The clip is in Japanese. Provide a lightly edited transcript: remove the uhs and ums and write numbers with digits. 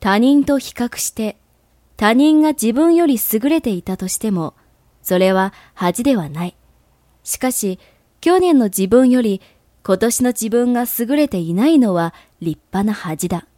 他人と比較して他人が自分より優れていたとしても、それは恥ではない。しかし、去年の自分より今年の自分が優れていないのは立派な恥だ。